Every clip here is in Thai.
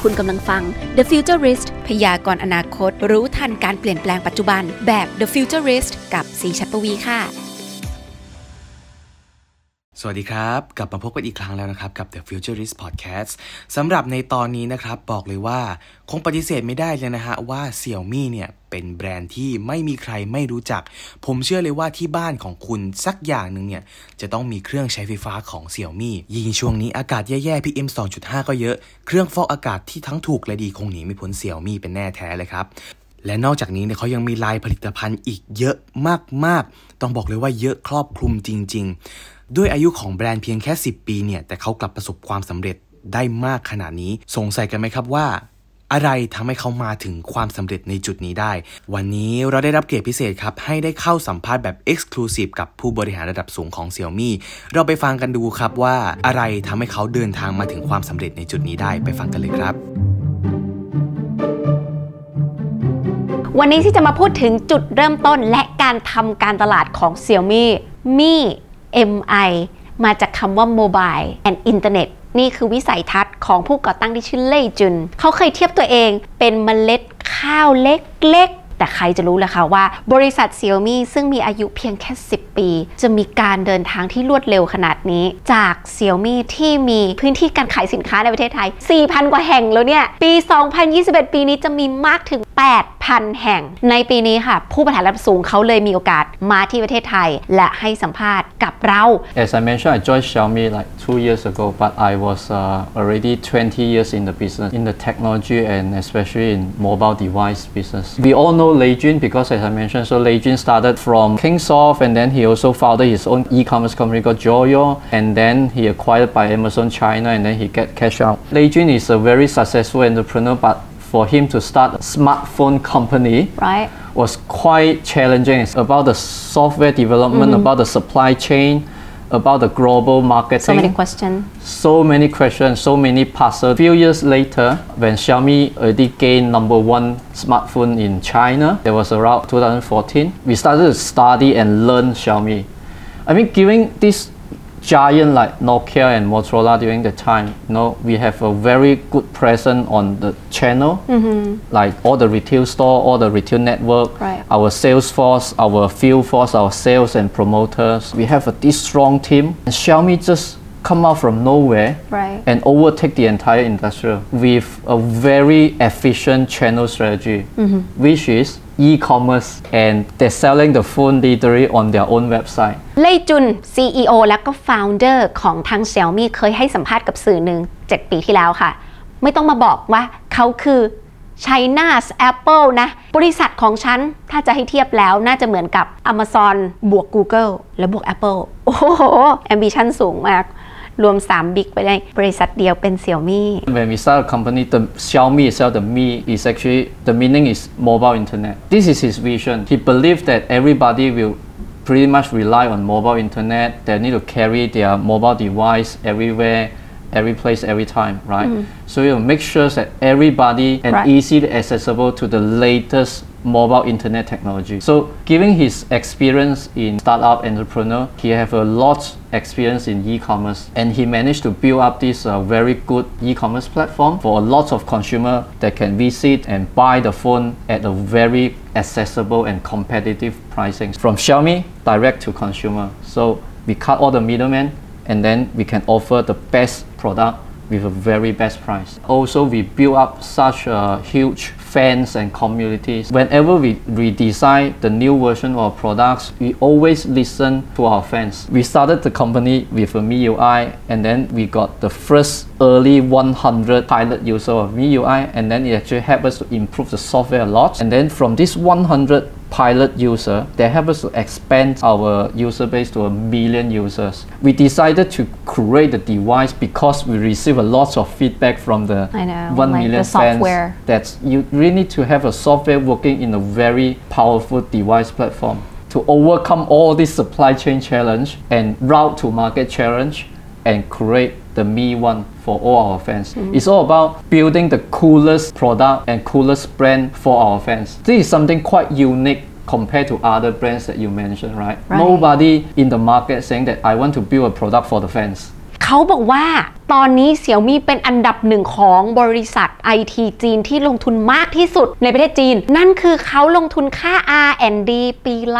คุณกำลังฟัง The Futurist พยากรณ์อนาคตรู้ทันการเปลี่ยนแปลงปัจจุบันแบบ The Futurist กับศรีชัดปวีค่ะสวัสดีครับกลับมาพบกันอีกครั้งแล้วนะครับกับ The Futurist Podcast สำหรับในตอนนี้นะครับบอกเลยว่าคงปฏิเสธไม่ได้เลยนะฮะว่า Xiaomi เนี่ยเป็นแบรนด์ที่ไม่มีใครไม่รู้จักผมเชื่อเลยว่าที่บ้านของคุณสักอย่างนึงเนี่ยจะต้องมีเครื่องใช้ไฟฟ้าของ Xiaomi ยิ่งช่วงนี้อากาศแย่ๆ PM 2.5 ก็เยอะเครื่องฟอกอากาศที่ทั้งถูกและดีคงหนีไม่พ้น Xiaomi เป็นแน่แท้เลยครับและนอกจากนี้เนี่ยเขายังมีไลน์ผลิตภัณฑ์อีกเยอะมากๆต้องบอกเลยว่าเยอะครอบคลุมจริงๆด้วยอายุของแบรนด์เพียงแค่10ปีเนี่ยแต่เขากลับประสบความสำเร็จได้มากขนาดนี้สงสัยกันไหมครับว่าอะไรทำให้เขามาถึงความสำเร็จในจุดนี้ได้วันนี้เราได้รับเกียรติพิเศษครับให้ได้เข้าสัมภาษณ์แบบ Exclusive กับผู้บริหารระดับสูงของ Xiaomi เราไปฟังกันดูครับว่าอะไรทำให้เขาเดินทางมาถึงความสำเร็จในจุดนี้ได้ไปฟังกันเลยครับวันนี้ที่จะมาพูดถึงจุดเริ่มต้นและการทำการตลาดของ Xiaomi Mi MI มาจากคำว่า Mobile and Internet นี่คือวิสัยทัศน์ของผู้ก่อตั้งที่ชื่อเล่ยจุนเขาเคยเทียบตัวเองเป็นเมล็ดข้าวเล็กๆแต่ใครจะรู้ล่ะคะว่าบริษัท Xiaomi ซึ่งมีอายุเพียงแค่10ปีจะมีการเดินทางที่รวดเร็วขนาดนี้จาก Xiaomi ที่มีพื้นที่การขายสินค้าในประเทศไทย 4,000 กว่าแห่งแล้วเนี่ยปี 2021 ปีนี้จะมีมากถึง 8,000 แห่งในปีนี้ค่ะผู้บริหารระดับสูงเขาเลยมีโอกาสมาที่ประเทศไทยและให้สัมภาษณ์กับเรา As I mentioned, I joined Xiaomi like 2 years ago, but I was already 20 years in the business, in the technology and especially in mobile device business. We all know Lei Jun because as I mentioned, so Lei Jun started from Kingsoft and then he also founded his own e-commerce company called Joyo and then he acquired by Amazon China and then he get cash out. Lei Jun is a very successful entrepreneur, but for him to start a smartphone company was quite challenging. It's about the software development, about the supply chain, about the global marketing. So many questions, so many puzzles. A few years later, when Xiaomi already gained number one smartphone in China, that was around 2014, we started to study and learn Xiaomi. I mean, giving this giant like Nokia and Motorola during the time, we have a very good presence on the channel, like all the retail store, all the retail network, our sales force, our field force, our sales and promoters. We have this strong team. And Xiaomi just come out from nowhere and overtake the entire industry with a very efficient channel strategy, which is e-commerce and they're selling the phone literally on their own website. เล่ยจุน CEO และก็ Founder ของทาง Xiaomi เคยให้สัมภาษณ์กับสื่อหนึ่ง7 ปีที่แล้วค่ะไม่ต้องมาบอกว่าเขาคือ China's Apple นะบริษัทของฉันถ้าจะให้เทียบแล้วน่าจะเหมือนกับ Amazon บวก Google และบวก Apple โอ้โห ambition สูงมากรวม3บิ๊กไปในบริษัทเดียวเป็น Xiaomi. When we start a company, the Xiaomi itself, the Mi is actually, the meaning is mobile internet. This is his vision. He believes that everybody will pretty much rely on mobile internet. They need to carry their mobile device everywhere, every place, every time, right? So he'll make sure that everybody and easily accessible to the latest mobile internet technology. So given his experience in startup entrepreneur, he have a lot experience in e-commerce and he managed to build up this very good e-commerce platform for a lot of consumer that can visit and buy the phone at a very accessible and competitive pricing from Xiaomi direct to consumer. So we cut all the middlemen and then we can offer the best product with a very best price. Also, we build up such a huge fans and communities. Whenever we redesign the new version of products, we always listen to our fans. We started the company with a MIUI and then we got the first early 100 pilot user of MIUI and then it actually helped us to improve the software a lot. And then from this 100 pilot user, they help us to expand our user base to 1 million users. We decided to create the device because we receive a lot of feedback from the 1 million fans that you really need to have a software working in a very powerful device platform to overcome all this supply chain challenge and route to market challenge and create the Mi One for all our fans. It's all about building the coolest product and coolest brand for our fans. This is something quite unique compared to other brands that you mentioned, right? Nobody in the market saying that I want to build a product for the fans. เขาบอกว่าตอนนี้ Xiaomi เป็นอันดับหนึ่งของบริษัท IT จีนที่ลงทุนมากที่สุดในประเทศจีนนั่นคือเขาลงทุนค่า R&D ปีละ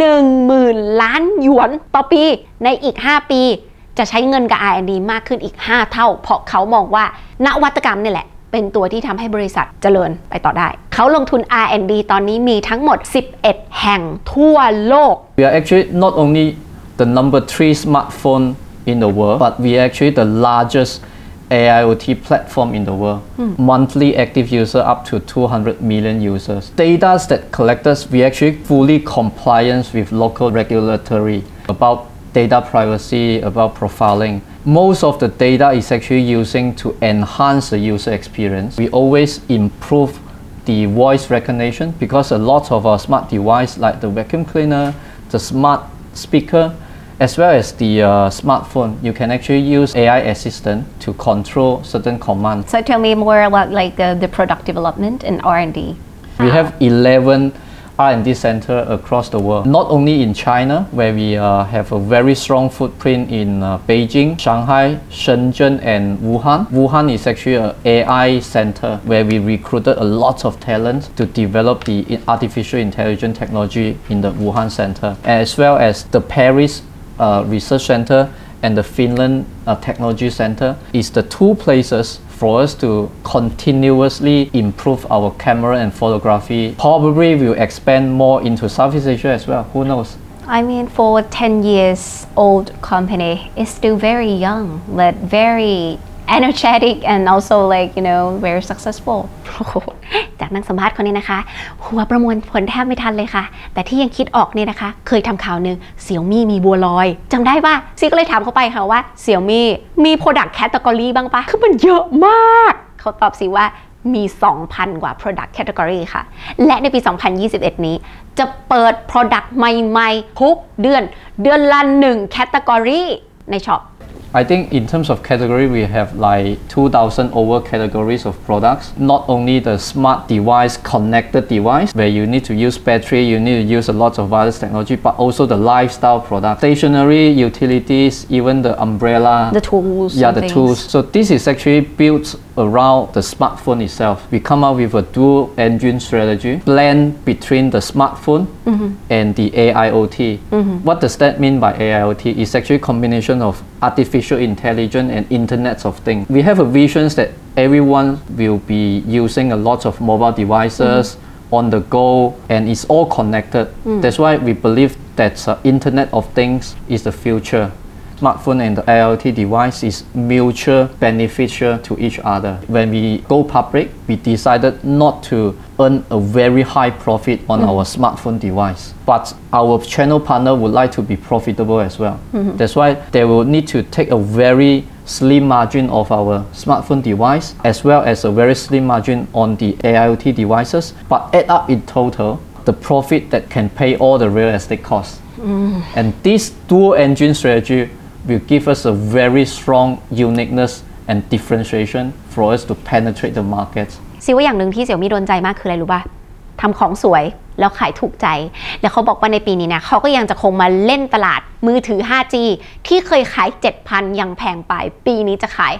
10,000 ล้านหยวนต่อปีในอีก 5 ปีจะใช้เงินกับ R&D มากขึ้นอีก 5 เท่าเพราะเขามองว่านวัตกรรมนี่แหละเป็นตัวที่ทำให้บริษัทเจริญไปต่อได้เขาลงทุน R&D ตอนนี้มีทั้งหมด 11 แห่งทั่วโลก We are actually not only the number 3 smartphone in the world, but we are actually the largest AIoT platform in the world. Monthly active user up to 200 million users. Data that collected, we actually fully compliant with local regulatory about data privacy, about profiling. Most of the data is actually using to enhance the user experience. We always improve the voice recognition because a lot of our smart device like the vacuum cleaner, the smart speaker, as well as the smartphone, you can actually use AI assistant to control certain commands. So tell me more about like the product development and R&D. We have 11 R&D center across the world, not only in China, where we have a very strong footprint in Beijing, Shanghai, Shenzhen, and Wuhan. Wuhan is actually an AI center where we recruited a lot of talent to develop the artificial intelligence technology in the Wuhan center, as well as the Paris Research Center and the Finland Technology Center is the two places for us to continuously improve our camera and photography. Probably we'll expand more into Southeast Asia as well, who knows? I mean, for 10 years old company, it's still very young, but very energetic and also like, you know, very successful. จากนักสัมภาษณ์คนนี้นะคะ หัวประมวลผลแทบไม่ทันเลยค่ะ แต่ที่ยังคิดออกเนี่ยนะคะ เคยทำข่าวหนึ่ง Xiaomi มีบัวลอยจำได้ป่ะซีก็เลยถามเขาไปค่ะว่า Xiaomi มี product category บ้างปะคือมันเยอะมากเขาตอบสิว่ามี 2,000 กว่า product category ค่ะและในปี 2021 นี้จะเปิด product ใหม่ๆทุกเดือนละ1 category ในช็อป I think in terms of category, we have like 2,000 over categories of products. Not only the smart device, connected device, where you need to use battery, you need to use a lot of wireless technology, but also the lifestyle product, stationery, utilities, even the umbrella. The tools. Yeah, the tools. So this is actually built around the smartphone itself. We come up with a dual engine strategy, blend between the smartphone and the AIoT. What does that mean by AIoT? It's actually a combination of artificial intelligence and Internet of Things. We have a vision that everyone will be using a lot of mobile devices on the go and it's all connected. That's why we believe that Internet of Things is the future. Smartphone and the IoT device is mutual beneficial to each other. When we go public, we decided not to earn a very high profit on our smartphone device. But our channel partner would like to be profitable as well. That's why they will need to take a very slim margin of our smartphone device as well as a very slim margin on the AIoT devices. But add up in total, the profit that can pay all the real estate costs. And this dual engine strategy will give us a very strong uniqueness and differentiation for us to penetrate the market. ซิว่าอย่างหนึ่งที่ Xiaomi โดนใจมากคืออะไรรู้ป่ะทำของสวยแล้วขายถูกใจแล้วเขาบอกว่าในปีนี้นะเขาก็ยังจะคงมาเล่นตลาดมือถือ 5G ที่เคยขาย 7,000 ยังแพงไปปีนี้จะขาย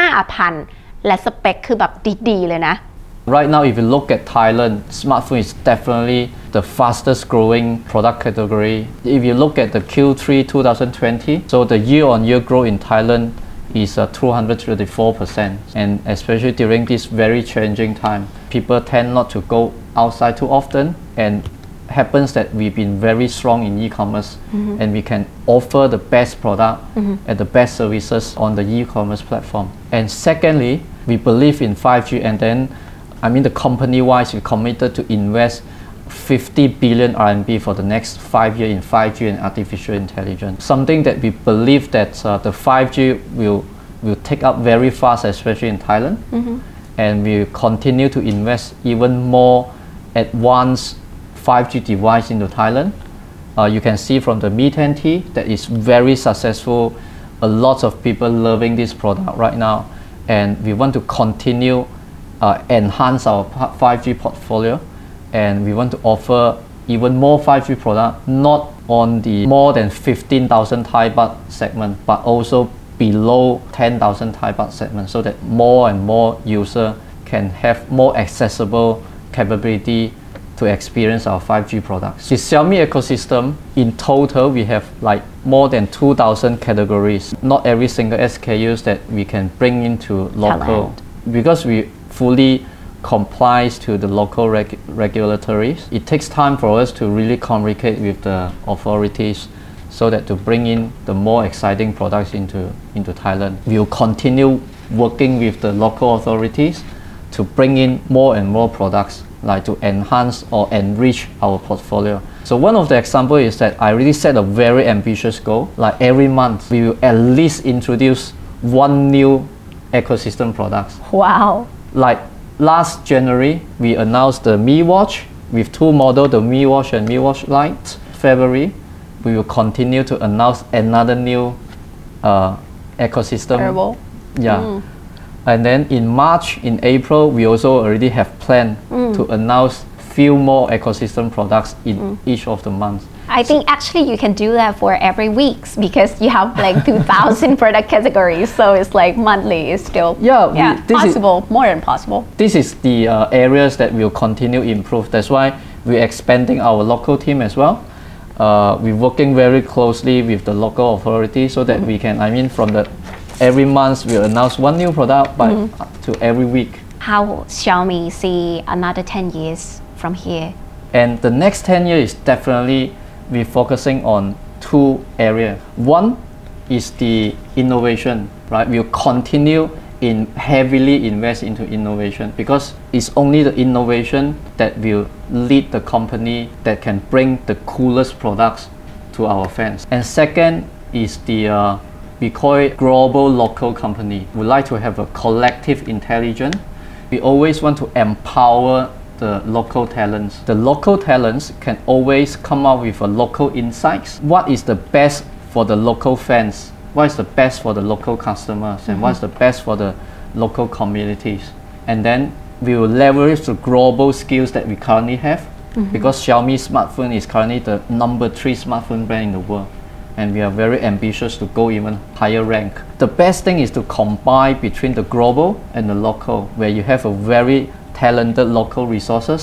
5,000 และสเปคคือแบบดีๆเลยนะ Right now, if you look at Thailand, smartphone is definitely the fastest growing product category. If you look at the Q3 2020, so the year-on-year growth in Thailand is 234%. And especially during this very challenging time, people tend not to go outside too often. And happens that we've been very strong in e-commerce and we can offer the best product and the best services on the e-commerce platform. And secondly, we believe in 5G and then the company-wise, we committed to invest 50 billion RMB for the next 5 years in 5G and artificial intelligence. Something that we believe that the 5G will take up very fast, especially in Thailand. And we continue to invest even more advanced 5G device into Thailand. You can see from the Mi 10T that is very successful. A lot of people loving this product right now. And we want to continue enhance our 5G portfolio and we want to offer even more 5G product not on the more than 15,000 Thai baht segment but also below 10,000 Thai baht segment so that more and more user can have more accessible capability to experience our 5G products. The Xiaomi ecosystem, in total, we have like more than 2,000 categories. Not every single SKUs that we can bring into local. Because we fully complies to the local regulatories, it takes time for us to really communicate with the authorities so that to bring in the more exciting products into Thailand. We will continue working with the local authorities to bring in more and more products, like to enhance or enrich our portfolio. So one of the examples is that I really set a very ambitious goal. Like every month, we will at least introduce one new ecosystem products. Wow. Like last January, we announced the Mi Watch with two models, the Mi Watch and Mi Watch Lite. February, we will continue to announce another new ecosystem. Wearable. Yeah. And then in March, in April, we also already have planned to announce few more ecosystem products in each of the months. I think actually you can do that for every week because you have like 2,000 product categories, so it's like monthly is still possible, more than possible. This is the areas that will continue improve. That's why we're expanding our local team as well. We're working very closely with the local authorities so that we can, from the every month we'll announce one new product to every week. How Xiaomi see another 10 years from here? And the next 10 years is definitely we're focusing on two areas. One is the innovation, right? We'll continue heavily invest into innovation because it's only the innovation that will lead the company that can bring the coolest products to our fans. And second is the we call it global local company. We like to have a collective intelligence. We always want to empower the local talents. The local talents can always come up with a local insights. What is the best for the local fans? What is the best for the local customers? And what's the best for the local communities? And then we will leverage the global skills that we currently have because Xiaomi smartphone is currently the number 3 smartphone brand in the world. And we are very ambitious to go even higher rank. The best thing is to combine between the global and the local, where you have a very talented local resources,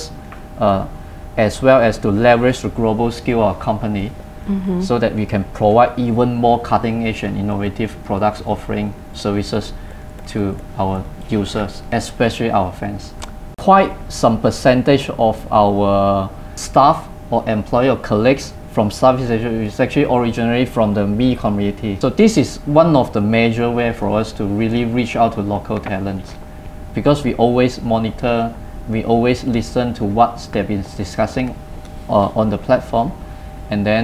as well as to leverage the global skill of our company, so that we can provide even more cutting-edge and innovative products offering services to our users, especially our fans. Quite some percentage of our staff or employee or colleagues from Southeast Asia is actually originally from the Mi community. So this is one of the major way for us to really reach out to local talents because we always monitor, we always listen to what they've been discussing on the platform, and then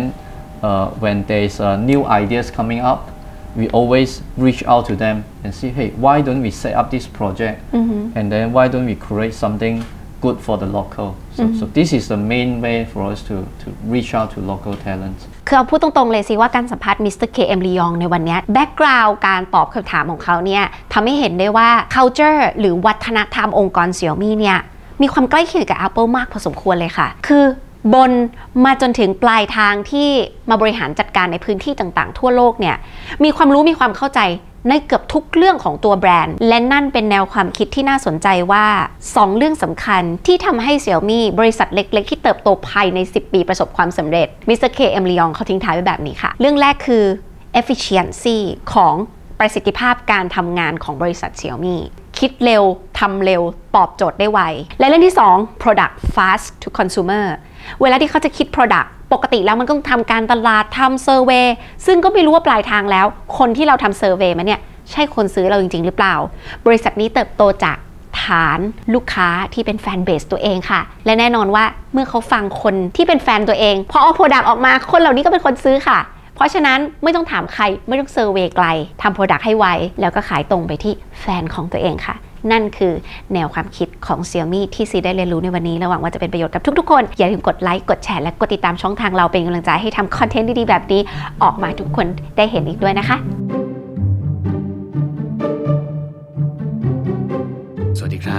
when there's new ideas coming up, we always reach out to them and say, hey, why don't we set up this project, and then why don't we create something good for the local. So this is the main way for us to reach out to local talents. คือเอาพูดตรงๆเลยสิว่าการสัมภาษณ์มิสเตอร์เคเอ็มลียองในวันนี้แบ็กกราวด์การตอบคำถามของเขาเนี่ยทำให้เห็นได้ว่า culture หรือวัฒนธรรมองค์กร Xiaomi เนี่ยมีความใกล้เคียงกับ Apple มากพอสมควรเลยค่ะคือบนมาจนถึงปลายทางที่มาบริหารจัดการในพื้นที่ต่างๆทั่วโลกเนี่ยมีความรู้มีความเข้าใจในเกือบทุกเรื่องของตัวแบรนด์และนั่นเป็นแนวความคิดที่น่าสนใจว่า2เรื่องสำคัญที่ทำให้ Xiaomi บริษัทเล็กๆที่เติบโตภายใน10 ปีประสบความสำเร็จมิสเตอร์เคเอ็มลียองเขาทิ้งท้ายไว้แบบนี้ค่ะเรื่องแรกคือ efficiency ของประสิทธิภาพการทำงานของบริษัท Xiaomi คิดเร็วทำเร็วตอบโจทย์ได้ไวและเรื่องที่2 product fast to consumer เวลาที่เขาจะคิด product ปกติแล้วมันก็ต้องทำการตลาดทำเซอร์เวย์ซึ่งก็ไม่รู้ว่าปลายทางแล้วคนที่เราทำเซอร์เวย์มาเนี่ยใช่คนซื้อเราจริงๆหรือเปล่าบริษัทนี้เติบโตจากฐานลูกค้าที่เป็นแฟนเบสตัวเองค่ะและแน่นอนว่าเมื่อเขาฟังคนที่เป็นแฟนตัวเองพอเอาโปรดักต์ออกมาคนเหล่านี้ก็เป็นคนซื้อค่ะเพราะฉะนั้นไม่ต้องถามใครไม่ต้องเซอร์เวย์ไกลทำโปรดักต์ให้ไวแล้วก็ขายตรงไปที่แฟนของตัวเองค่ะนั่นคือแนวความคิดของ Xiaomi ที่ซีได้เรียนรู้ในวันนี้และหวังว่าจะเป็นประโยชน์กับทุกๆคนอย่าลืมกดไลค์กดแชร์และกดติดตามช่องทางเราเป็นกำลังใจให้ทำคอนเทนต์ดีๆแบบนี้ออกมาทุกคนได้เห็นอีกด้วยนะคะสวัสดีครับ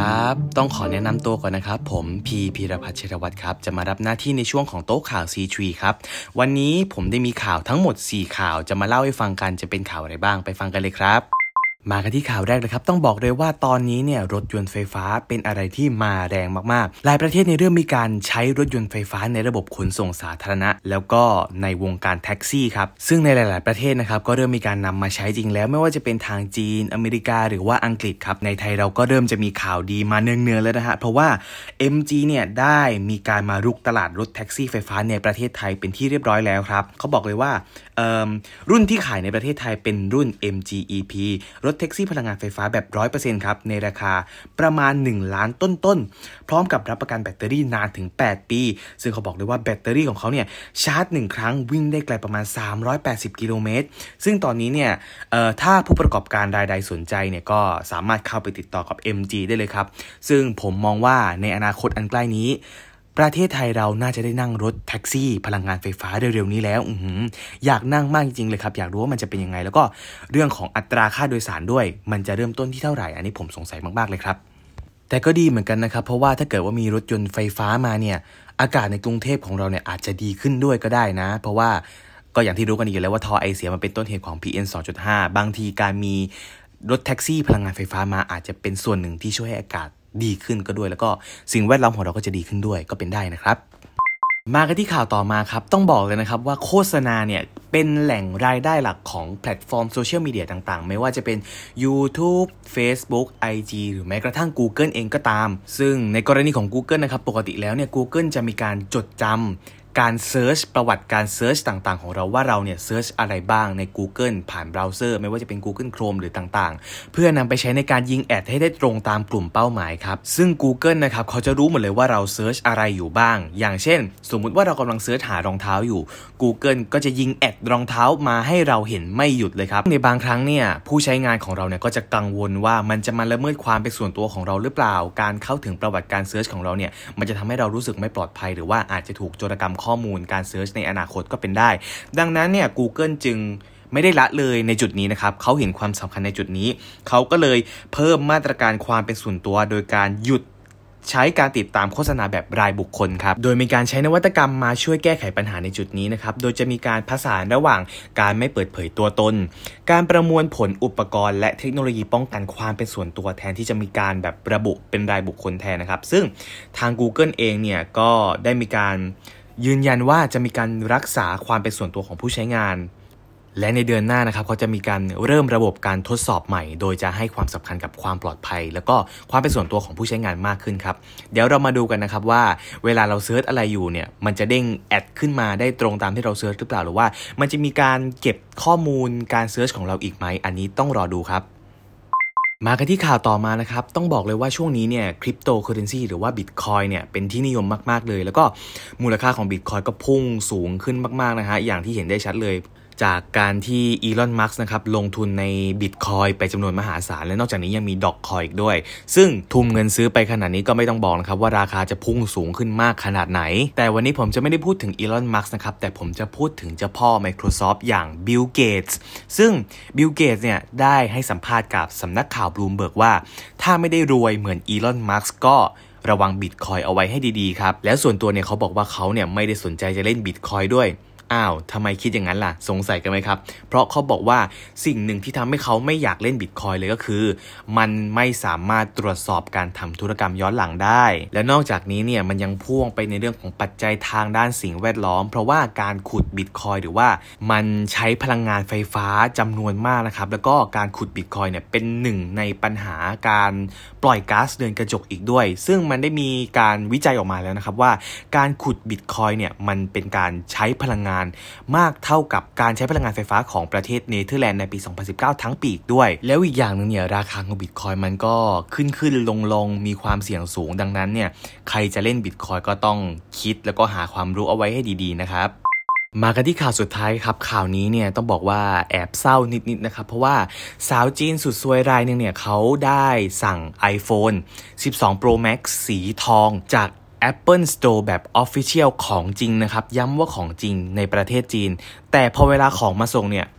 ครับต้องขอแนะนำตัวก่อนนะครับผมพีรพัฒน์ เชษฐวัฒน์ครับจะมารับหน้าที่ในช่วงของโต๊ะข่าว C3 ครับวันนี้ผมได้มีข่าวทั้งหมด4ข่าวจะมาเล่าให้ฟังกันจะเป็นข่าวอะไรบ้างไปฟังกันเลยครับมากันที่ข่าวแรกเลยครับต้องบอกเลยว่าตอนนี้เนี่ยรถยนต์ไฟฟ้าเป็นอะไรที่มาแรงมากๆหลายประเทศในเริ่มมีการใช้รถยนต์ไฟฟ้าในระบบขนส่งสาธารณะแล้วก็ในวงการแท็กซี่ครับซึ่งในหลายๆประเทศนะครับก็เริ่มมีการนำมาใช้จริงแล้วไม่ว่าจะเป็นทางจีนอเมริกาหรือว่าอังกฤษครับในไทยเราก็เริ่มจะมีข่าวดีมาเนืองๆแล้วนะฮะเพราะว่า MG เนี่ยได้มีการมารุกตลาดรถแท็กซี่ไฟฟ้าในประเทศไทยเป็นที่เรียบร้อยแล้วครับเขาบอกเลยว่ารุ่นที่ขายในประเทศไทยเป็นรุ่น MG EP รถแท็กซี่พลังงานไฟฟ้าแบบ 100% ครับในราคาประมาณ1ล้านต้นๆพร้อมกับรับประกันแบตเตอรี่นานถึง8ปีซึ่งเขาบอกเลยว่าแบตเตอรี่ของเขาเนี่ยชาร์จ1ครั้งวิ่งได้ไกลประมาณ380กิโลเมตรซึ่งตอนนี้เนี่ยถ้าผู้ประกอบการรายใดสนใจเนี่ยก็สามารถเข้าไปติดต่อกับ MG ได้เลยครับซึ่งผมมองว่าในอนาคตอันใกล้นี้ประเทศไทยเราน่าจะได้นั่งรถแท็กซี่พลังงานไฟฟ้าเร็วๆนี้แล้วอยากนั่งมากจริงๆเลยครับอยากรู้ว่ามันจะเป็นยังไงแล้วก็เรื่องของอัตราค่าโดยสารด้วยมันจะเริ่มต้นที่เท่าไหร่อันนี้ผมสงสัยมากๆเลยครับแต่ก็ดีเหมือนกันนะครับเพราะว่าถ้าเกิดว่ามีรถยนต์ไฟฟ้ามาเนี่ยอากาศในกรุงเทพของเราเนี่ยอาจจะดีขึ้นด้วยก็ได้นะเพราะว่าก็อย่างที่รู้กันอยู่แล้วว่าท่อไอเสียมันเป็นต้นเหตุของ PM 2.5 บางทีการมีรถแท็กซี่พลังงานไฟฟ้ามาอาจจะเป็นส่วนหนึ่งที่ช่วยให้อากาศดีขึ้นก็ด้วยแล้วก็สิ่งแวดล้อมของเราก็จะดีขึ้นด้วยก็เป็นได้นะครับมากันที่ข่าวต่อมาครับต้องบอกเลยนะครับว่าโฆษณาเนี่ยเป็นแหล่งรายได้หลักของแพลตฟอร์มโซเชียลมีเดียต่างๆไม่ว่าจะเป็น YouTube Facebook IG หรือแม้กระทั่ง Google เองก็ตามซึ่งในกรณีของ Google นะครับปกติแล้วเนี่ย Google จะมีการจดจำการเซิร์ชประวัติการเซิร์ชต่างๆของเราว่าเราเนี่ยเซิร์ชอะไรบ้างใน Google ผ่านเบราว์เซอร์ไม่ว่าจะเป็น Google Chrome หรือต่างๆเพื่อนำไปใช้ในการยิงแอดให้ได้ตรงตามกลุ่มเป้าหมายครับซึ่ง Google นะครับเขาจะรู้หมดเลยว่าเราเซิร์ชอะไรอยู่บ้างอย่างเช่นสมมุติว่าเรากำลังเซิร์ชหารองเท้าอยู่ Google ก็จะยิงแอดรองเท้ามาให้เราเห็นไม่หยุดเลยครับในบางครั้งเนี่ยผู้ใช้งานของเราเนี่ยก็จะกังวลว่ามันจะมาละเมิดความเป็นส่วนตัวของเราหรือเปล่าการเข้าถึงประวัติการเซิร์ชของเราเนี่ยมันจะทำให้เรารู้สึกไม่ปลอดภัยหรือว่าอาจจะถูกโจรกรรมข้อมูลการเซิร์ชในอนาคตก็เป็นได้ดังนั้นเนี่ย Google จึงไม่ได้ละเลยในจุดนี้นะครับเขาเห็นความสำคัญในจุดนี้เขาก็เลยเพิ่มมาตรการความเป็นส่วนตัวโดยการหยุดใช้การติดตามโฆษณาแบบรายบุคคลครับโดยมีการใช้นวัตกรรมมาช่วยแก้ไขปัญหาในจุดนี้นะครับโดยจะมีการผสานระหว่างการไม่เปิดเผยตัวตนการประมวลผลอุปกรณ์และเทคโนโลยีป้องกันความเป็นส่วนตัวแทนที่จะมีการแบบระบุเป็นรายบุคคลแทนนะครับซึ่งทาง Google เองเนี่ยก็ได้มีการยืนยันว่าจะมีการรักษาความเป็นส่วนตัวของผู้ใช้งานและในเดือนหน้านะครับเขาจะมีการเริ่มระบบการทดสอบใหม่โดยจะให้ความสำคัญกับความปลอดภัยแล้วก็ความเป็นส่วนตัวของผู้ใช้งานมากขึ้นครับเดี๋ยวเรามาดูกันนะครับว่าเวลาเราเซิร์ชอะไรอยู่เนี่ยมันจะเด้งแอดขึ้นมาได้ตรงตามที่เราเซิร์ชหรือเปล่าหรือว่ามันจะมีการเก็บข้อมูลการเซิร์ชของเราอีกไหมอันนี้ต้องรอดูครับมากันที่ข่าวต่อมานะครับต้องบอกเลยว่าช่วงนี้เนี่ยคริปโตเคอเรนซีหรือว่า Bitcoin เนี่ยเป็นที่นิยมมากๆเลยแล้วก็มูลค่าของ Bitcoin ก็พุ่งสูงขึ้นมากๆนะฮะอย่างที่เห็นได้ชัดเลยจากการที่อีลอนมัสก์นะครับลงทุนใน Bitcoin ไปจำนวนมหาศาลและนอกจากนี้ยังมีดอกคอยอีกด้วยซึ่งทุ่มเงินซื้อไปขนาดนี้ก็ไม่ต้องบอกนะครับว่าราคาจะพุ่งสูงขึ้นมากขนาดไหนแต่วันนี้ผมจะไม่ได้พูดถึงอีลอนมัสก์นะครับแต่ผมจะพูดถึงเจ้าพ่อ Microsoft อย่างบิลเกตส์ซึ่งบิลเกตส์เนี่ยได้ให้สัมภาษณ์กับสำนักข่าวบลูมเบิร์กว่าถ้าไม่ได้รวยเหมือนอีลอนมัสก์ก็ระวัง Bitcoin เอาไว้ให้ดีๆครับแล้วส่วนตัวเนี่ยเขาบอกว่าเขาเนี่ยไม่ได้สนใจจะเล่น Bitcoin ด้วยอ้าวทำไมคิดอย่างนั้นล่ะสงสัยกันไหมครับเพราะเขาบอกว่าสิ่งหนึ่งที่ทำให้เขาไม่อยากเล่น Bitcoin เลยก็คือมันไม่สามารถตรวจสอบการทำธุรกรรมย้อนหลังได้และนอกจากนี้เนี่ยมันยังพ่วงไปในเรื่องของปัจจัยทางด้านสิ่งแวดล้อมเพราะว่าการขุด Bitcoin หรือว่ามันใช้พลังงานไฟฟ้าจำนวนมากนะครับแล้วก็การขุด Bitcoin เนี่ยเป็นหนึ่งในปัญหาการปล่อยก๊าซเรือนกระจกอีกด้วยซึ่งมันได้มีการวิจัยออกมาแล้วนะครับว่าการขุด Bitcoin เนี่ยมันเป็นการใช้พลังงานมากเท่ากับการใช้พลังงานไฟฟ้าของประเทศเนเธอร์แลนด์ในปี 2019 ทั้งปีด้วยแล้วอีกอย่างนึงเนี่ยราคาของ Bitcoin มันก็ขึ้นลงมีความเสี่ยงสูงดังนั้นเนี่ยใครจะเล่น Bitcoin ก็ต้องคิดแล้วก็หาความรู้เอาไว้ให้ดีๆนะครับมากันที่ข่าวสุดท้ายครับข่าวนี้เนี่ยต้องบอกว่าแอบเศร้านิดๆนะครับเพราะว่าสาวจีนสุดซวยรายนึงเนี่ยเขาได้สั่ง iPhone 12 Pro Max สีทองจากApple Store แบบ Official ของจริงนะครับย้ำว่าของจริงในประเทศจีนแต่พอเวลาของมาส่งเนี่ย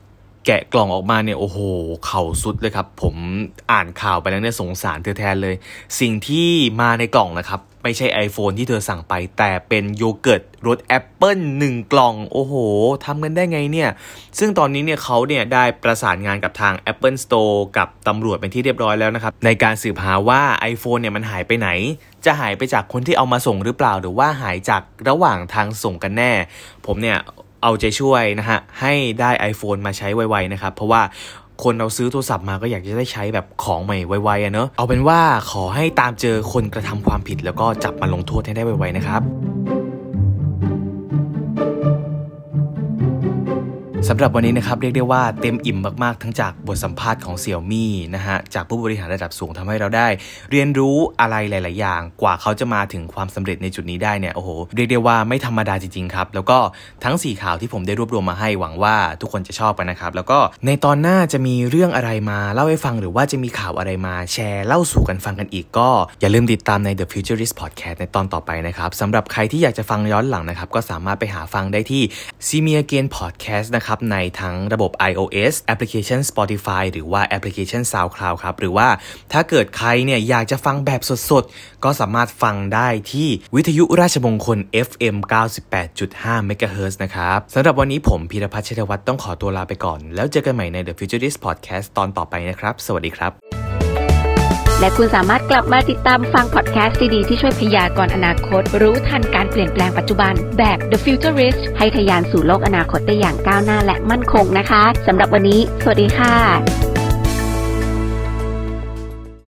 แกะกล่องออกมาเนี่ยโอ้โหเข่าสุดเลยครับผมอ่านข่าวไปแล้วเนี่ยสงสารเธอแทนเลยสิ่งที่มาในกล่องนะครับไม่ใช่ iPhone ที่เธอสั่งไปแต่เป็นโยเกิร์ตรสแอปเปิ้ล1กล่องโอ้โหทำกันได้ไงเนี่ยซึ่งตอนนี้เนี่ยเขาเนี่ยได้ประสานงานกับทาง Apple Store กับตำรวจเป็นที่เรียบร้อยแล้วนะครับในการสืบหาว่า iPhone เนี่ยมันหายไปไหนจะหายไปจากคนที่เอามาส่งหรือเปล่าหรือว่าหายจากระหว่างทางส่งกันแน่ผมเนี่ยเอาใจช่วยนะฮะให้ได้ iPhone มาใช้ไวๆนะครับเพราะว่าคนเราซื้อโทรศัพท์มาก็อยากจะได้ใช้แบบของใหม่ไวๆเนอะเอาเป็นว่าขอให้ตามเจอคนกระทำความผิดแล้วก็จับมาลงโทษให้ได้ไวๆนะครับสำหรับวันนี้นะครับเรียกได้ว่าเต็มอิ่มมากๆทั้งจากบทสัมภาษณ์ของ Xiaomi นะฮะจากผู้บริหารระดับสูงทำให้เราได้เรียนรู้อะไรหลายๆอย่างกว่าเขาจะมาถึงความสำเร็จในจุดนี้ได้เนี่ยโอ้โหเรียกได้ว่าไม่ธรรมดาจริงๆครับแล้วก็ทั้ง4ข่าวที่ผมได้รวบรวมมาให้หวังว่าทุกคนจะชอบกันนะครับแล้วก็ในตอนหน้าจะมีเรื่องอะไรมาเล่าให้ฟังหรือว่าจะมีข่าวอะไรมาแชร์เล่าสู่กันฟังกันอีกก็อย่าลืมติดตามใน The Futurist Podcast ในตอนต่อไปนะครับสำหรับใครที่อยากจะฟังย้อนหลังนะครับก็สามารถไปหาฟังได้ที่ See Me Again Podcast นะครับในทั้งระบบ iOS แอปพลิเคชัน Spotify หรือว่าแอปพลิเคชัน SoundCloud ครับหรือว่าถ้าเกิดใครเนี่ยอยากจะฟังแบบสดๆก็สามารถฟังได้ที่วิทยุราชมงคล FM 98.5 MHz นะครับสำหรับวันนี้ผมพีรพัฒน์ ชัยวัฒน์ต้องขอตัวลาไปก่อนแล้วเจอกันใหม่ใน The Futurist Podcast ตอนต่อไปนะครับสวัสดีครับและคุณสามารถกลับมาติดตามฟังพอดแคสต์ดีๆที่ช่วยพยากรณ์อนาคตรู้ทันการเปลี่ยนแปลงปัจจุบันแบบ The Futurist ให้ทะยานสู่โลกอนาคตได้อย่างก้าวหน้าและมั่นคงนะคะสำหรับวันนี้สวัสดีค่ะ